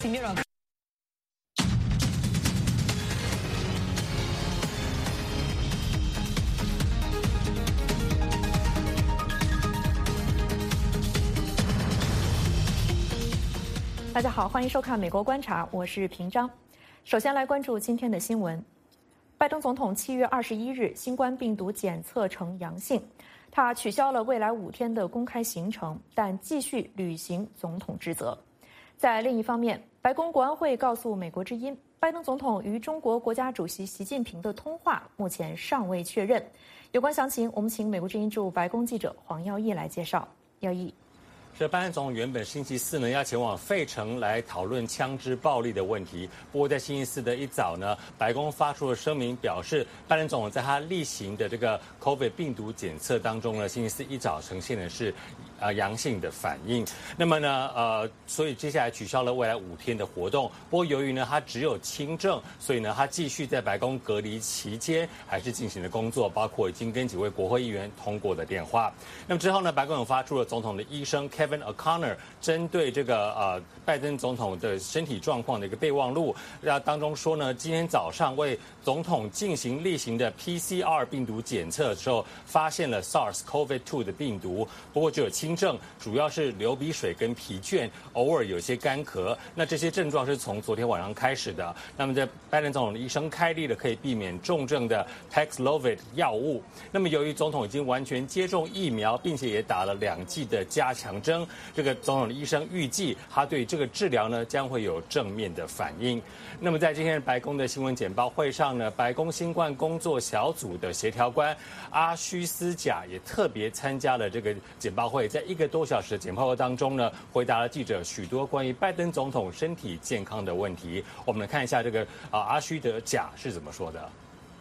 大家好，欢迎收看《美国观察》，我是平章。首先来关注今天的新闻。拜登总统7月21日新冠病毒检测呈阳性，他取消了未来5天的公开行程，但继续履行总统职责。在另一方面，白宫国安会告诉美国之音，拜登总统与中国国家主席习近平的通话目前尚未确认。有关详情，我们请美国之音驻白宫记者黄耀义来介绍。耀义。 这拜登总统原本星期四呢要前往费城来讨论枪支暴力的问题，不过在星期四的一早呢，白宫发出了声明，表示拜登总统在他例行的这个 COVID 病毒检测当中呢，星期四一早呈现的是阳性的反应。那么呢所以接下来取消了未来5天的活动。不过由于呢他只有轻症，所以呢他继续在白宫隔离期间还是进行了工作，包括已经跟几位国会议员通过的电话。那么之后呢，白宫有发出了总统的医生 Kevin O'Connor 针对这个拜登总统的身体状况的一个备忘录，当中说呢，今天早上为总统进行例行的 PCR 病毒检测的时候，发现了 SARS-CoV-2 的病毒，不过只有轻症，主要是流鼻水跟疲倦，偶尔有些干咳。那这些症状是从昨天晚上开始的。那么在拜登总统的医生开立了可以避免重症的 Paxlovid 药物。那么由于总统已经完全接种疫苗，并且也打了2剂的加强针，这个总统的医生预计他对这个治疗呢将会有正面的反应。那么在今天白宫的新闻简报会上呢，白宫新冠工作小组的协调官阿须斯贾也特别参加了这个简报会，在1个多小时的简报会当中呢，回答了记者许多关于拜登总统身体健康的问题。我们来看一下这个阿须德贾是怎么说的。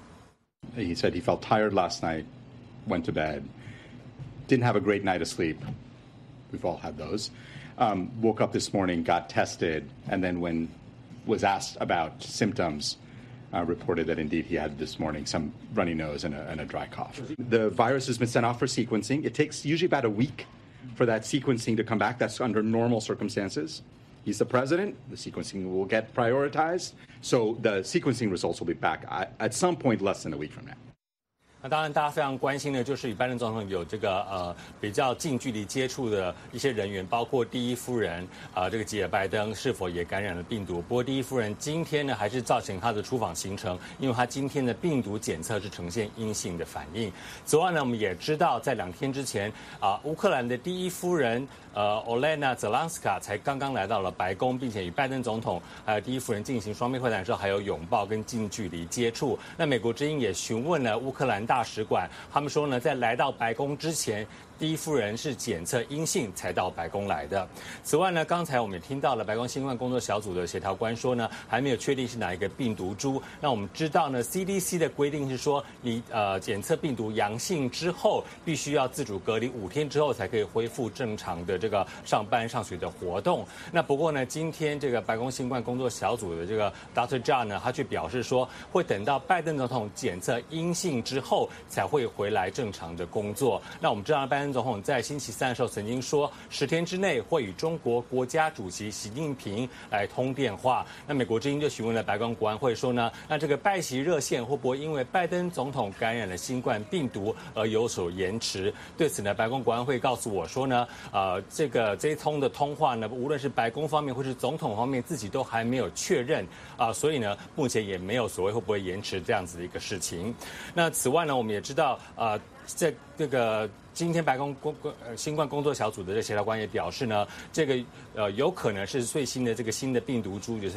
He said he felt tired last night, went to bed, didn't have a great night of sleep. We've all had those. Woke up this morning, got tested, and then when was asked about symptoms, reported that indeed he had this morning some runny nose and a dry cough. The virus has been sent off for sequencing. It takes usually about a week for that sequencing to come back. That's under normal circumstances. He's the president. The sequencing will get prioritized. So the sequencing results will be back at some point less than a week from now. 那当然，大家非常关心的就是与拜登总统有这个比较近距离接触的一些人员，包括第一夫人这个吉尔拜登是否也感染了病毒。不过第一夫人今天呢还是造成她的出访行程，因为她今天的病毒检测是呈现阴性的反应。此外呢，我们也知道在2天之前乌克兰的第一夫人Olena Zelenska 才刚刚来到了白宫，并且与拜登总统还有第一夫人进行双边会谈的时候，还有拥抱跟近距离接触。那美国之音也询问了乌克兰大使馆，他们说呢，在来到白宫之前，第一夫人是检测阴性才到白宫来的。此外呢，刚才我们也听到了白宫新冠工作小组的协调官说呢，还没有确定是哪一个病毒株。那我们知道呢 ，CDC 的规定是说，你检测病毒阳性之后，必须要自主隔离5天之后，才可以恢复正常的这个上班上学的活动。那不过呢，今天这个白宫新冠工作小组的这个 Dr. John 呢，他却表示说，会等到拜登总统检测阴性之后，才会回来正常的工作。那我们知道拜登总统在星期3的时候曾经说，10天之内会与中国国家主席习近平来通电话。那美国之音就询问了白宫国安会说呢，那这个拜习热线会不会因为拜登总统感染了新冠病毒而有所延迟？对此呢，白宫国安会告诉我说呢，这一通的通话呢，无论是白宫方面或是总统方面自己都还没有确认所以呢，目前也没有所谓会不会延迟这样子的一个事情。那此外呢，我们也知道在这个今天白宫新冠工作小组的这协调官也表示呢，这个有可能是最新的这个新的病毒株，就是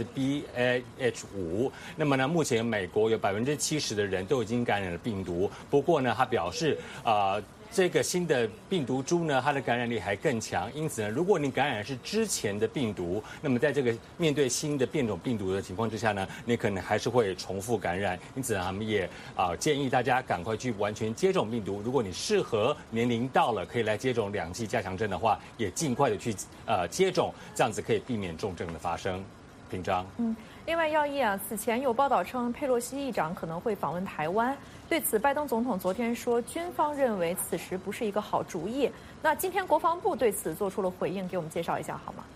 BA.5。那么呢，目前美国有70%的人都已经感染了病毒。不过呢，他表示这个新的病毒株呢，它的感染力还更强，因此呢，如果你感染的是之前的病毒，那么在这个面对新的变种病毒的情况之下呢，你可能还是会重复感染。因此呢，他们也建议大家赶快去完全接种病毒。如果你适合年龄到了可以来接种2剂加强针的话，也尽快的去接种，这样子可以避免重症的发生。平章。 另外，耀义此前有报道称佩洛西议长可能会访问台湾。对此，拜登总统昨天说，军方认为此时不是一个好主意。那今天国防部对此做出了回应，给我们介绍一下好吗？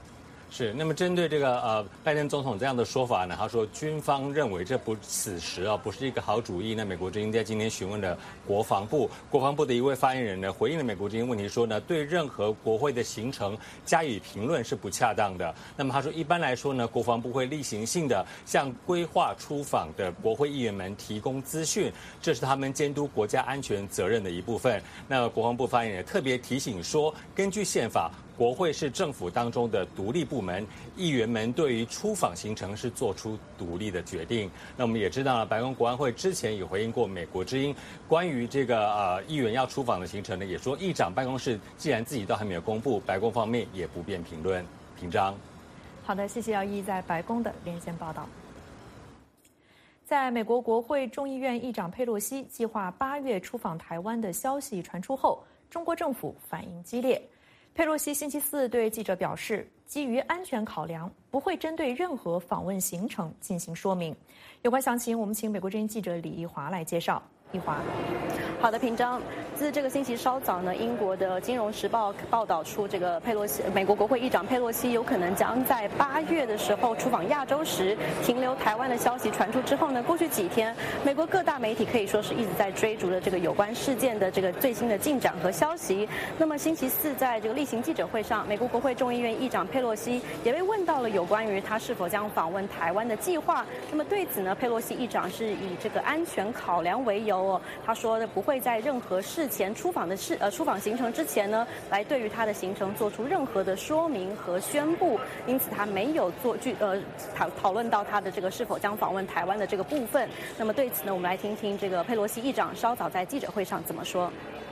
是，那么针对这个拜登总统这样的说法呢，他说军方认为这此时啊不是一个好主意。那美国之音在今天询问了国防部的一位发言人呢，回应了美国之音问题说呢，对任何国会的行程加以评论是不恰当的。那么他说，一般来说呢，国防部会例行性的向规划出访的国会议员们提供资讯，这是他们监督国家安全责任的一部分。那国防部发言人也特别提醒说，根据宪法，国会是政府当中的独立部门，议员们对于出访行程是做出独立的决定。那我们也知道了，白宫国安会之前也回应过美国之音关于这个议员要出访的行程呢，也说议长办公室既然自己都还没有公布，白宫方面也不便评论。平章， 好的，谢谢姚毅在白宫的连线报道。在美国国会众议院议长佩洛西计划8月出访台湾的消息传出后，中国政府反应激烈。佩洛西星期四对记者表示，基于安全考量，不会针对任何访问行程进行说明。有关详情，我们请美国之音记者李义华来介绍。义华， 好的，平章。自这个星期稍早呢，英国的《金融时报》报道出，这个美国国会议长佩洛西有可能将在8月的时候出访亚洲时停留台湾的消息传出之后呢，过去几天，美国各大媒体可以说是一直在追逐的这个有关事件的这个最新的进展和消息。那么星期四在这个例行记者会上，美国国会众议院议长佩洛西也被问到了有关于他是否将访问台湾的计划。那么对此呢，佩洛西议长是以这个安全考量为由哦，他说不会在任何事前出访行程之前呢，来对于他的行程做出任何的说明和宣布，因此他没有讨论到他的这个是否将访问台湾的这个部分。那么对此呢，我们来听听这个佩洛西议长稍早在记者会上怎么说。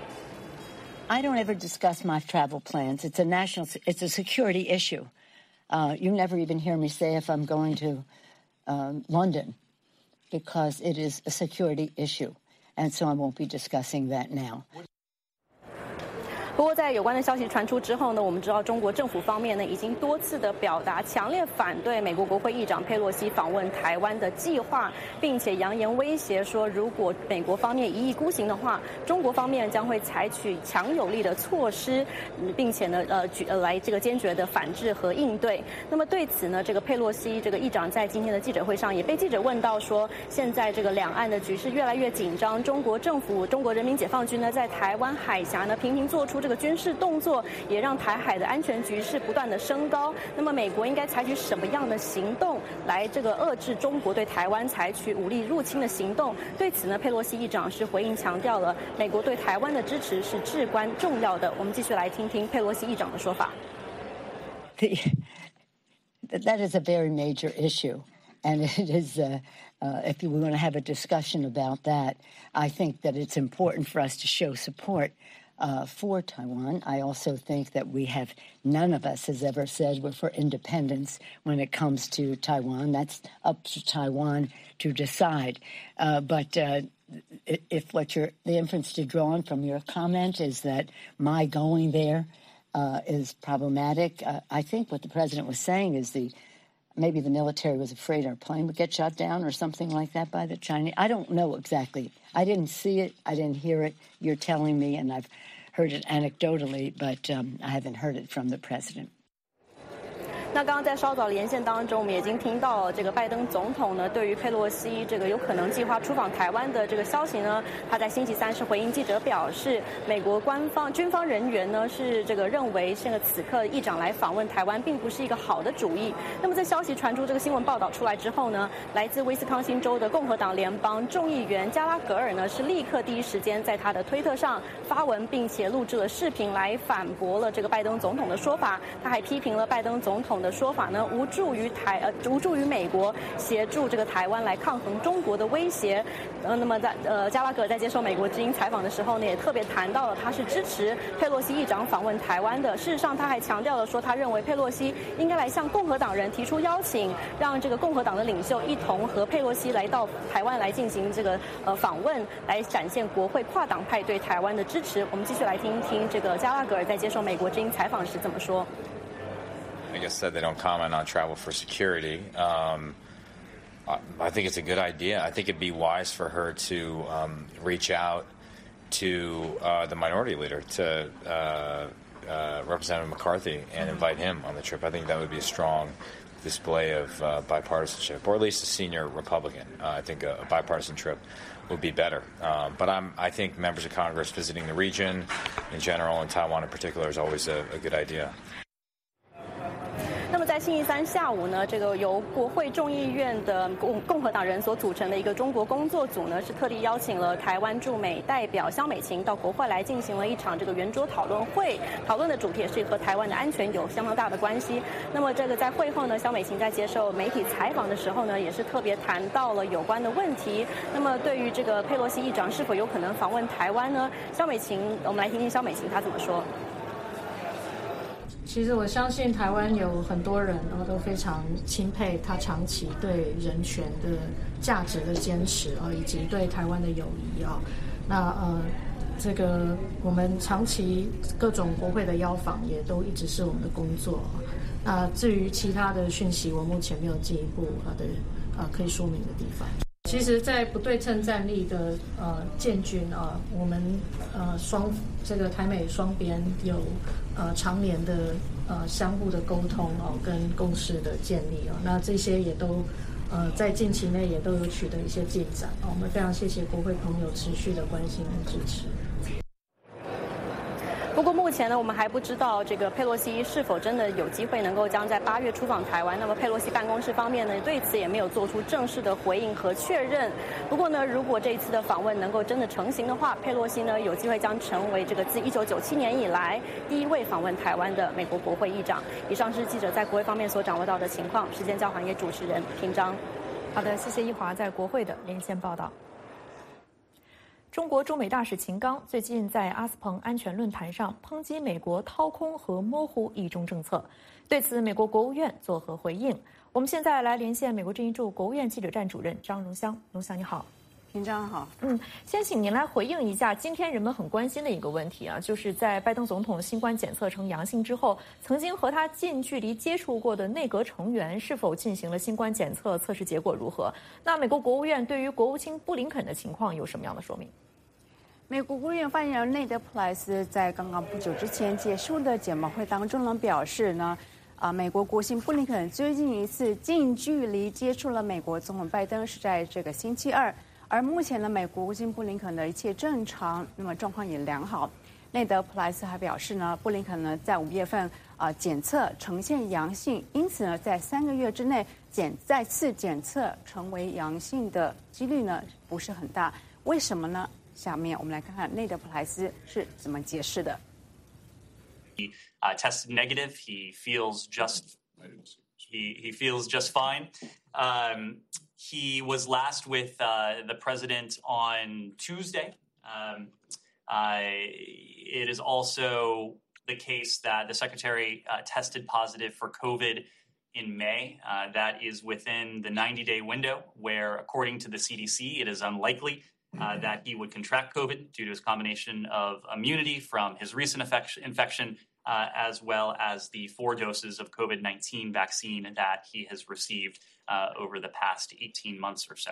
I don't ever discuss my travel plans. It's a security issue. You never even hear me say if I'm going to London, because it is a security issue. And so I won't be discussing that now. 不过，在有关的消息传出之后呢，我们知道中国政府方面呢已经多次的表达强烈反对美国国会议长佩洛西访问台湾的计划，并且扬言威胁说，如果美国方面一意孤行的话，中国方面将会采取强有力的措施，并且呢来这个坚决的反制和应对。那么对此呢，这个佩洛西这个议长在今天的记者会上也被记者问到说，现在这个两岸的局势越来越紧张，中国政府、中国人民解放军呢在台湾海峡呢频频做出这个军事动作，也让台海的安全局势不断的升高。那么美国应该采取什么样的行动来这个遏制中国对台湾采取武力入侵的行动？对此呢，佩洛西议长是回应强调了美国对台湾的支持是至关重要的。我们继续来听听佩洛西议长的说法。 That is a very major issue, and it is. If we were going to have a discussion about that, I think that it's important for us to show support for Taiwan. I also think that none of us has ever said we're for independence when it comes to Taiwan. That's up to Taiwan to decide. But if the inference to draw on from your comment is that my going there is problematic, I think what the president was saying is maybe the military was afraid our plane would get shot down or something like that by the Chinese. I don't know exactly. I didn't see it. I didn't hear it. You're telling me, and I've heard it anecdotally, but I haven't heard it from the president. 那刚刚在稍早连线当中，我们已经听到这个拜登总统呢，对于佩洛西这个有可能计划出访台湾的这个消息呢，他在星期三是回应记者表示，美国军方人员呢是这个认为这个此刻议长来访问台湾并不是一个好的主意。那么在消息传出这个新闻报道出来之后呢，来自威斯康星州的共和党联邦众议员加拉格尔呢是立刻第一时间在他的推特上发文，并且录制了视频来反驳了这个拜登总统的说法。他还批评了拜登总统的说法呢，无助于美国协助这个台湾来抗衡中国的威胁。那么在加拉格尔在接受美国之音采访的时候呢，也特别谈到了他是支持佩洛西议长访问台湾的。事实上，他还强调了说，他认为佩洛西应该来向共和党人提出邀请，让这个共和党的领袖一同和佩洛西来到台湾来进行这个访问，来展现国会跨党派对台湾的支持。我们继续来听一听这个加拉格尔在接受美国之音采访时怎么说。 I guess said they don't comment on travel for security. I think it's a good idea. I think it'd be wise for her to reach out to the minority leader, to Representative McCarthy and invite him on the trip. I think that would be a strong display of bipartisanship, or at least a senior Republican. I think a bipartisan trip would be better. But I think members of Congress visiting the region in general and Taiwan in particular is always a good idea. 那么在星期三下午呢，这个由国会众议院的共和党人所组成的一个中国工作组呢，是特地邀请了台湾驻美代表萧美琴到国会来进行了一场这个圆桌讨论会。讨论的主题也是和台湾的安全有相当大的关系。那么这个在会后呢，萧美琴在接受媒体采访的时候呢，也是特别谈到了有关的问题。那么对于这个佩洛西议长是否有可能访问台湾呢？萧美琴，我们来听听萧美琴她怎么说。 其实我相信台湾有很多人都非常钦佩他长期对人权的价值的坚持以及对台湾的友谊那这个我们长期各种国会的邀访也都一直是我们的工作至于其他的讯息，我目前没有进一步的可以说明的地方。其实，在不对称战力的建军我们这个台美双边有常年的相互的沟通跟共识的建立那这些也都在近期内也都有取得一些进展我们非常谢谢国会朋友持续的关心和支持。 不过目前呢，我们还不知道这个佩洛西是否真的有机会能够将在8月出访台湾。那么佩洛西办公室方面呢，对此也没有做出正式的回应和确认。不过呢，如果这一次的访问能够真的成行的话，佩洛西呢有机会将成为这个自1997年以来第一位访问台湾的美国国会议长。以上是记者在国会方面所掌握到的情况。时间交还给主持人平章。 好的，谢谢一华在国会的连线报道。中国驻美大使秦刚最近在阿斯彭安全论坛上抨击美国掏空和模糊一中政策，对此美国国务院作何回应？我们现在来连线美国之音驻国务院记者站主任张荣香。荣香你好。 平章好。 先请您来回应一下今天人们很关心的一个问题就是在拜登总统新冠检测呈阳性之后，曾经和他近距离接触过的内阁成员是否进行了新冠检测，测试结果如何？那美国国务院对于国务卿布林肯的情况有什么样的说明？ 美国国务院发言人内德·普莱斯在刚刚不久之前结束的简报会当中呢，表示呢，美国国务卿布林肯最近一次近距离接触了美国总统拜登是在这个星期二，而目前呢，美国国务卿布林肯的一切正常，那么状况也良好。内德·普莱斯还表示呢，布林肯呢在5月份检测呈现阳性，因此呢，在3个月之内再次检测成为阳性的几率呢不是很大，为什么呢？下面我们来看看内德·普莱斯是怎么解释的。 He tested negative. He feels just fine. He was last with the president on Tuesday. It is also the case that the secretary tested positive for COVID in May. That is within the 90-day window where, according to the CDC, it is unlikely that he would contract COVID due to his combination of immunity from his recent infection, as well as the 4 doses of COVID-19 vaccine that he has received over the past 18 months or so.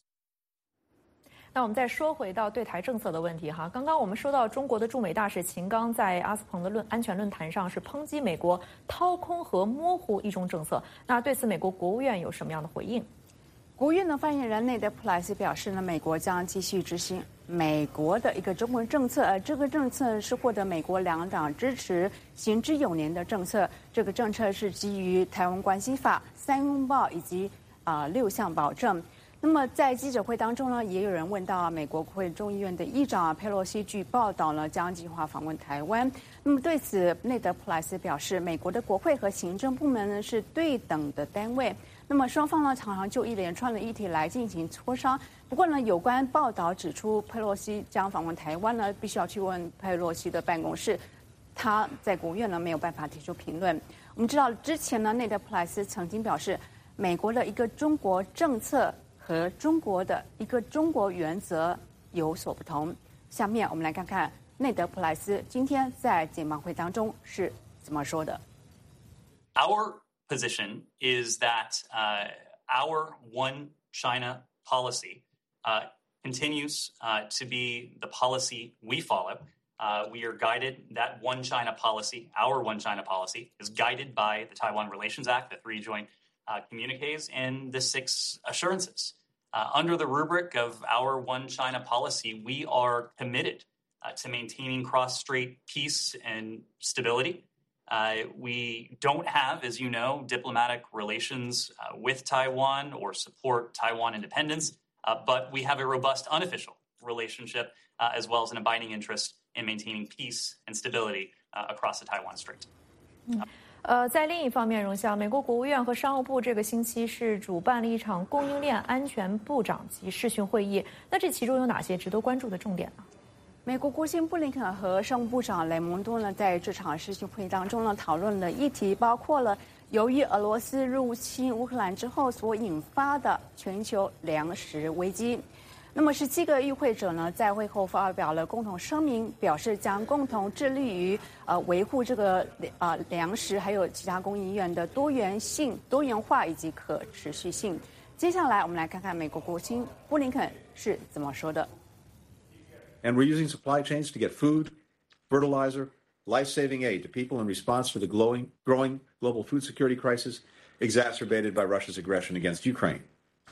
那我们再说回到对台政策的问题哈，刚刚我们说到中国的驻美大使秦刚在阿斯彭的安全论坛上是抨击美国掏空和模糊一中政策，那对此美国国务院有什么样的回应？ 国务院的发言人内德·普莱斯表示呢，美国将继续执行美国的一个中国政策，这个政策是获得美国2党支持、行之有年的政策。这个政策是基于《台湾关系法》、3拥抱以及6项保证。那么在记者会当中呢，也有人问到美国国会众议院的议长佩洛西据报道呢将计划访问台湾。那么对此，内德·普莱斯表示，美国的国会和行政部门呢是对等的单位。那么双方呢常常就一连串的议题来进行磋商。不过呢，有关报道指出佩洛西将访问台湾呢，必须要去问佩洛西的办公室，他在国务院呢没有办法提出评论。我们知道之前呢，内德·普莱斯曾经表示，美国的一个中国政策和中国的一个中国原则有所不同。下面我们来看看内德·普莱斯今天在简报会当中是怎么说的。 Our position is that our one China policy continues to be the policy we follow. We are guided, that one China policy, our one China policy, is guided by the Taiwan Relations Act, the 3 joint communiques, and the 6 assurances. Under the rubric of our one China policy, we are committed to maintaining cross-strait peace and stability. We don't have, as you know, diplomatic relations with Taiwan or support Taiwan independence, but we have a robust unofficial relationship as well as an abiding interest in maintaining peace and stability across the Taiwan Strait. 在另一方面，荣相，美国国务院和商务部这个星期是主办了一场供应链安全部长级视讯会议。那这其中有哪些值得关注的重点呢？ 美国国务卿布林肯和商务部长雷蒙多呢，在这场视讯会议当中呢，讨论的议题包括了由于俄罗斯入侵乌克兰之后所引发的全球粮食危机。那么17个与会者呢，在会后发表了共同声明，表示将共同致力于维护这个粮食还有其他供应链的多元性、多元化以及可持续性。接下来我们来看看美国国务卿布林肯是怎么说的。 And we're using supply chains to get food, fertilizer, life-saving aid to people in response to the growing global food security crisis exacerbated by Russia's aggression against Ukraine.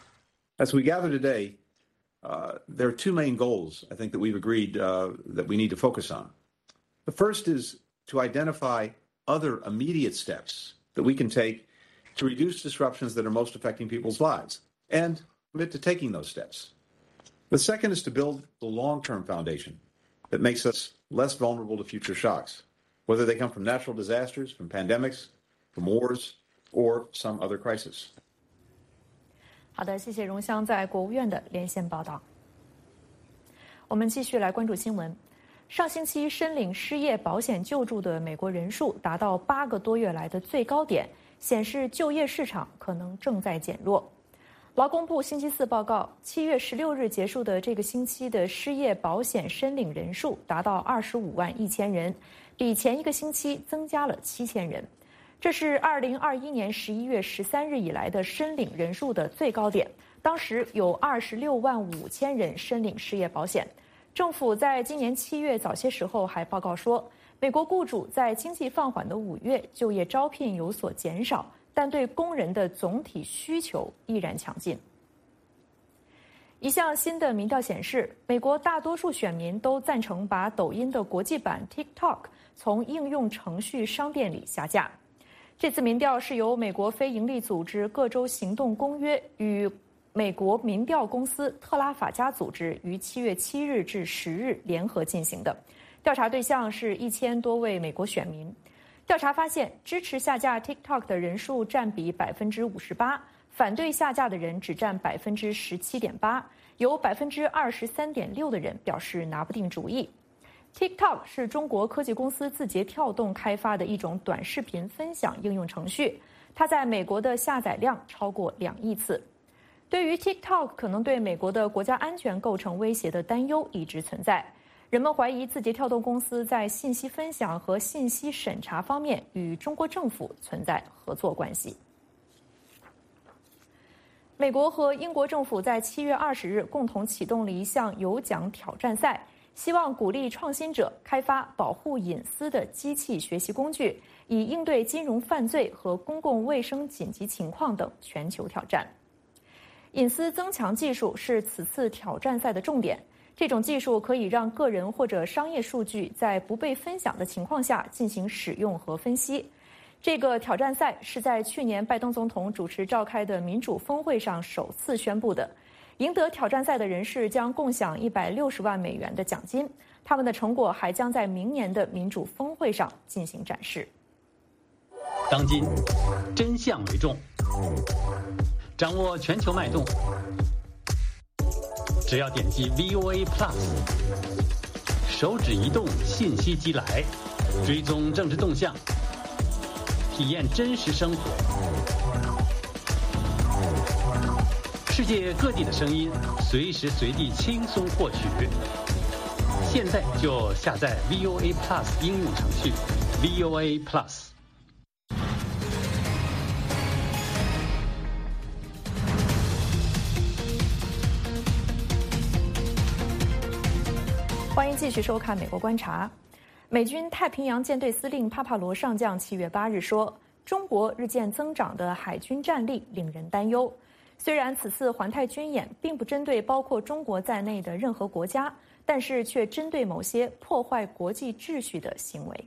As we gather today, there are 2 main goals, I think, that we've agreed that we need to focus on. The first is to identify other immediate steps that we can take to reduce disruptions that are most affecting people's lives and commit to taking those steps. The second is to build the long-term foundation that makes us less vulnerable to future shocks, whether they come from natural disasters, from pandemics, from wars, or some other crisis. 好的，谢谢荣相在国务院的连线报道。我们继续来关注新闻。上星期申领失业保险救助的美国人数达到8个多月来的最高点，显示就业市场可能正在减弱。劳工部星期四报告，7月16日结束的这个星期的失业保险申领人数达到25万1000人，比前一个星期增加了7000人。这是2021年11月13日以来的申领人数的最高点，当时有26万5000人申领失业保险。政府在今年7月早些时候还报告说，美国雇主在经济放缓的5月就业招聘有所减少，但对工人的总体需求依然强劲。一项新的民调显示，美国大多数选民都赞成把抖音的国际版 TikTok 从应用程序商店里下架。这次民调是由美国非营利组织各州行动公约与美国民调公司特拉法加组织于7月7日至10日联合进行的。调查对象是1000多位美国选民。调查发现，支持下架 TikTok 的人数占比58%，反对下架的人只占17.8%，有23.6%的人表示拿不定主意。TikTok 是中国科技公司字节跳动开发的一种短视频分享应用程序，它在美国的下载量超过2亿次。对于 TikTok 可能对美国的国家安全构成威胁的担忧一直存在，人们怀疑字节跳动公司在信息分享和信息审查方面与中国政府存在合作关系。美国和英国政府在7月20日共同启动了一项有奖挑战赛，希望鼓励创新者开发保护隐私的机器学习工具，以应对金融犯罪和公共卫生紧急情况等全球挑战。隐私增强技术是此次挑战赛的重点，这种技术可以让个人或者商业数据在不被分享的情况下进行使用和分析。这个挑战赛是在去年拜登总统主持召开的民主峰会上首次宣布的。赢得挑战赛的人士将共享160万美元的奖金，他们的成果还将在明年的民主峰会上进行展示。 当今，真相为重，掌握全球脉动，只要点击 VOA Plus， 手指移动，信息即来，追踪政治动向，体验真实生活。世界各地的声音，随时随地轻松获取。现在就下载 VOA Plus 应用程序 VOA Plus。 欢欢迎继续收看《美国观察》。美军太平洋舰队司令帕帕罗上将7月8日说，中国日渐增长的海军战力令人担忧。虽然此次环太军演并不针对包括中国在内的任何国家，但是却针对某些破坏国际秩序的行为。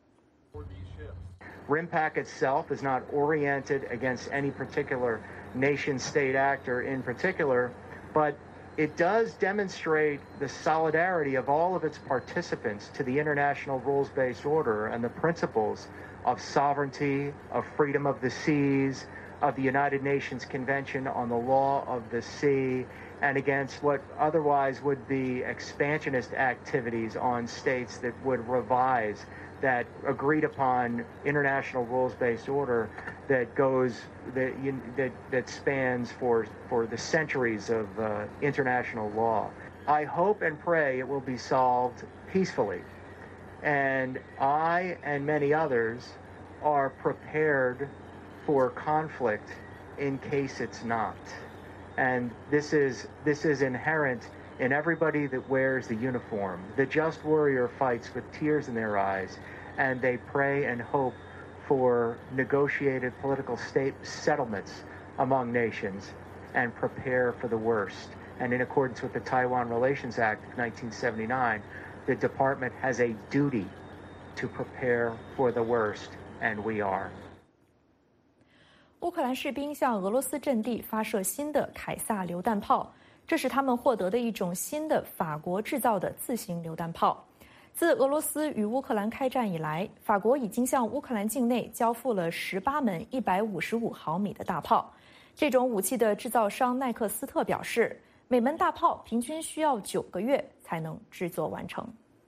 RIMPAC itself is not oriented against any particular nation-state actor in particular, but it does demonstrate the solidarity of all of its participants to the international rules-based order and the principles of sovereignty, of freedom of the seas, of the United Nations Convention on the Law of the Sea, and against what otherwise would be expansionist activities on states that would revise that agreed upon international rules-based order that goes that spans for the centuries of international law. I hope and pray it will be solved peacefully, and I and many others are prepared for conflict in case it's not. And this is inherent in everybody that wears the uniform. The just warrior fights with tears in their eyes, and they pray and hope for negotiated political settlements among nations and prepare for the worst. And in accordance with the Taiwan Relations Act of 1979, the department has a duty to prepare for the worst, and we are. 乌克兰士兵向俄罗斯阵地发射新的凯撒榴弹炮，这是他们获得的一种新的法国制造的自行榴弹炮。自俄罗斯与乌克兰开战以来，法国已经向乌克兰境内交付了18门155毫米的大炮。这种武器的制造商耐克斯特表示，每门大炮平均需要9个月才能制作完成。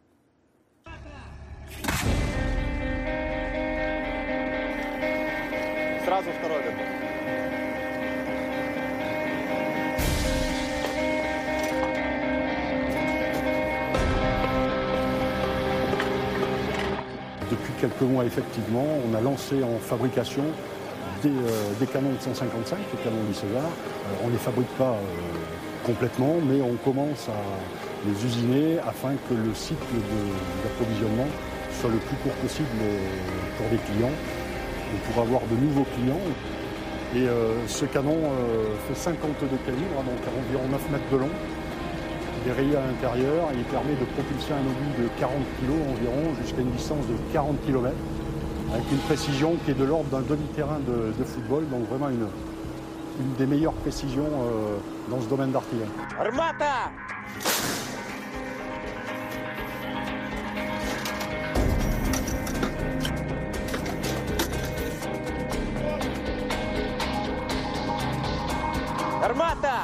Сразу второй готов. Depuis quelques mois, effectivement, on a lancé en fabrication des canons de 155, les canons du César. On ne les fabrique pas complètement, mais on commence à les usiner afin que le cycle d'approvisionnement soit le plus court possible pour des clients. Pour avoir de nouveaux clients. Et ce canon fait 52 calibres, donc environ 9 mètres de long. Il est rayé à l'intérieur et il permet de propulser un obus de 40 kg environ jusqu'à une distance de 40 km avec une précision qui est de l'ordre d'un demi-terrain de football, donc vraiment une des meilleures précisions dans ce domaine d'artillerie. Armata! Armata!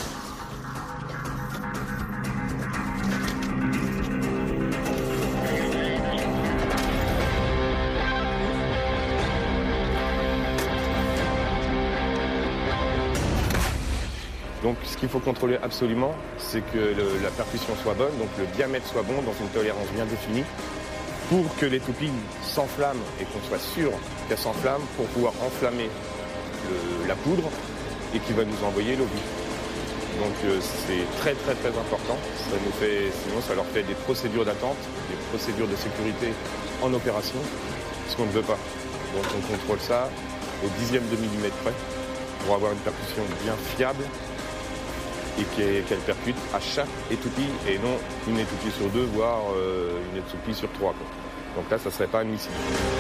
Donc ce qu'il faut contrôler absolument, c'est que la percussion soit bonne, donc le diamètre soit bon dans une tolérance bien définie, pour que l'étoupille s'enflamme et qu'on soit sûr qu'elle s'enflamme pour pouvoir enflammer la poudre et qui va nous envoyer l'obus. Donc c'est très très très important. Sinon ça leur fait des procédures d'attente, des procédures de sécurité en opération, ce qu'on ne veut pas. Donc on contrôle ça au dixième de millimètre près pour avoir une percussion bien fiable et qu'elle percute à chaque étoupille et non une étoupille sur 2, voire une étoupille sur 3. Quoi. Donc là, ça ne serait pas admissible.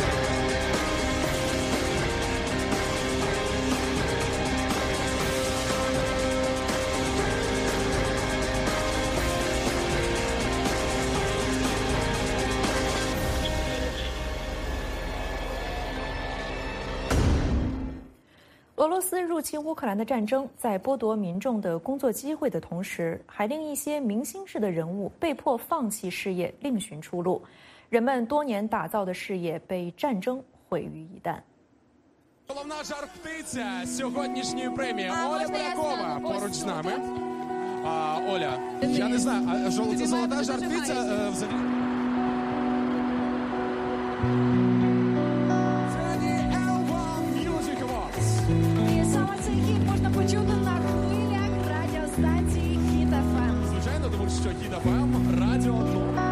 俄罗斯入侵乌克兰的战争，在剥夺民众的工作机会的同时，还令一些明星式的人物被迫放弃事业，另寻出路。人们多年打造的事业被战争毁于一旦。 Головна жар-птиця сьогоднішньої премії Оля Полякова поруч з нами. Оля, я не знаю, а це золота жар-птиця взагалі? Звичайно, тому що Хіт ФМ, радіо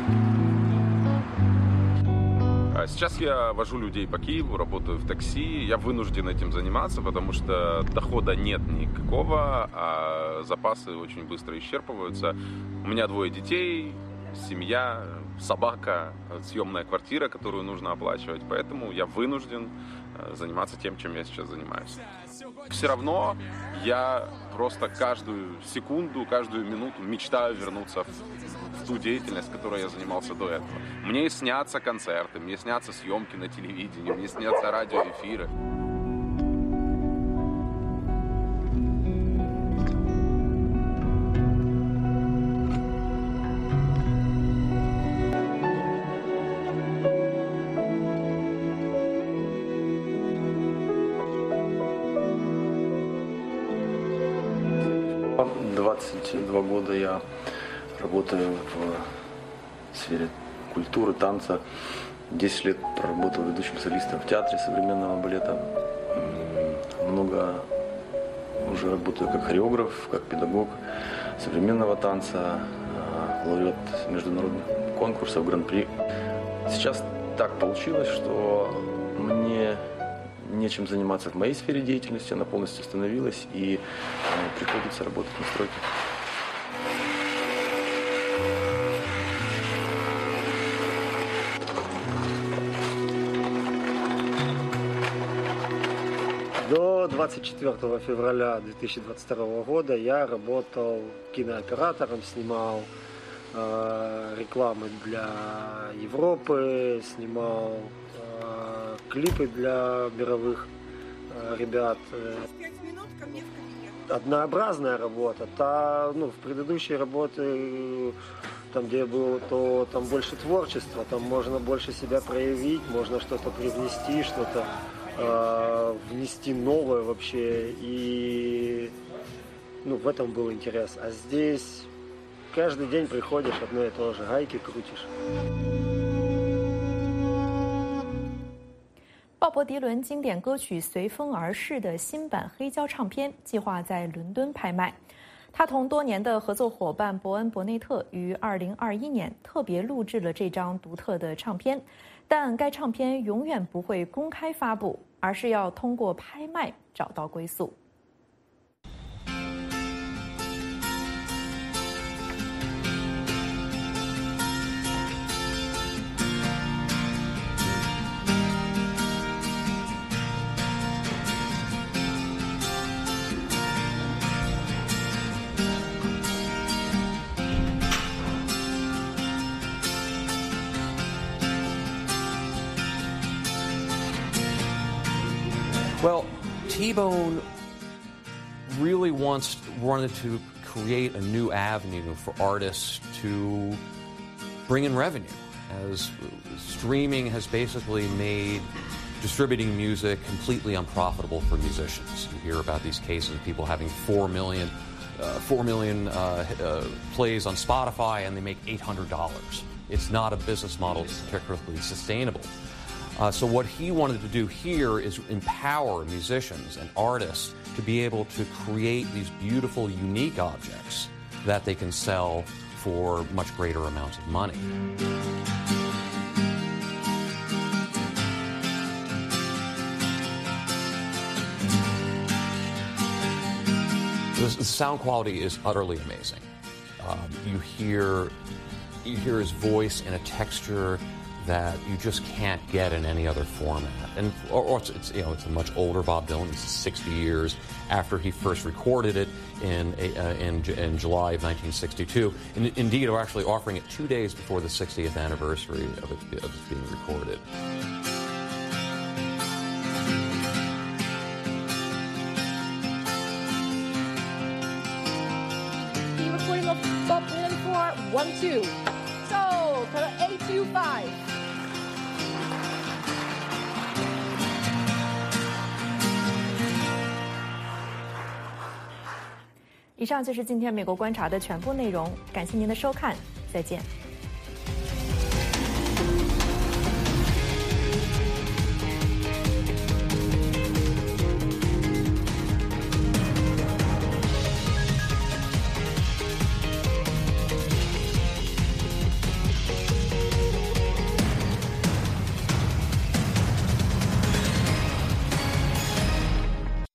Сейчас я вожу людей по Киеву, работаю в такси. Я вынужден этим заниматься, потому что дохода нет никакого, а запасы очень быстро исчерпываются. У меня 2 детей, семья, собака, съемная квартира, которую нужно оплачивать. Поэтому я вынужден заниматься тем, чем я сейчас занимаюсь. Все равно я просто каждую секунду, каждую минуту мечтаю вернуться в ту деятельность, которой я занимался до этого. Мне снятся концерты, мне снятся съемки на телевидении, мне снятся радиоэфиры. Два года я работаю в сфере культуры, танца. 10 лет проработал ведущим солистом в театре современного балета. Много уже работаю как хореограф, как педагог современного танца, лауреат международных конкурсов, гран-при. Сейчас так получилось, что мне нечем заниматься в моей сфере деятельности, она полностью остановилась, и приходится работать на стройке. До 24 февраля 2022 года я работал кинооператором, снимал рекламы для Европы, снимал клипы для мировых ребят. Однообразная работа. В предыдущей работе, там, где я был, то там больше творчества, там можно больше себя проявить, можно что-то привнести, что-то внести новое вообще. И в этом был интерес. А здесь каждый день приходишь, одно и то же, гайки крутишь. 鲍勃迪伦经典歌曲《随风而逝》的新版黑胶唱片计划在伦敦拍卖。他同多年的合作伙伴伯恩·伯内特于2021年特别录制了这张独特的唱片，但该唱片永远不会公开发布，而是要通过拍卖找到归宿。 Well, T-Bone really wanted to create a new avenue for artists to bring in revenue, as streaming has basically made distributing music completely unprofitable for musicians. You hear about these cases of people having 4 million plays on Spotify and they make $800. It's not a business model that's particularly sustainable. So what he wanted to do here is empower musicians and artists to be able to create these beautiful, unique objects that they can sell for much greater amounts of money. The sound quality is utterly amazing. You hear his voice in a texture that you just can't get in any other format. And it's a much older Bob Dylan. This is 60 years after he first recorded it in July of 1962. And indeed, we're actually offering it 2 days before the 60th anniversary of it being recorded. The recording of Bob Dylan for 1-2. So, color 825. 以上就是今天美国观察的全部内容，感谢您的收看，再见。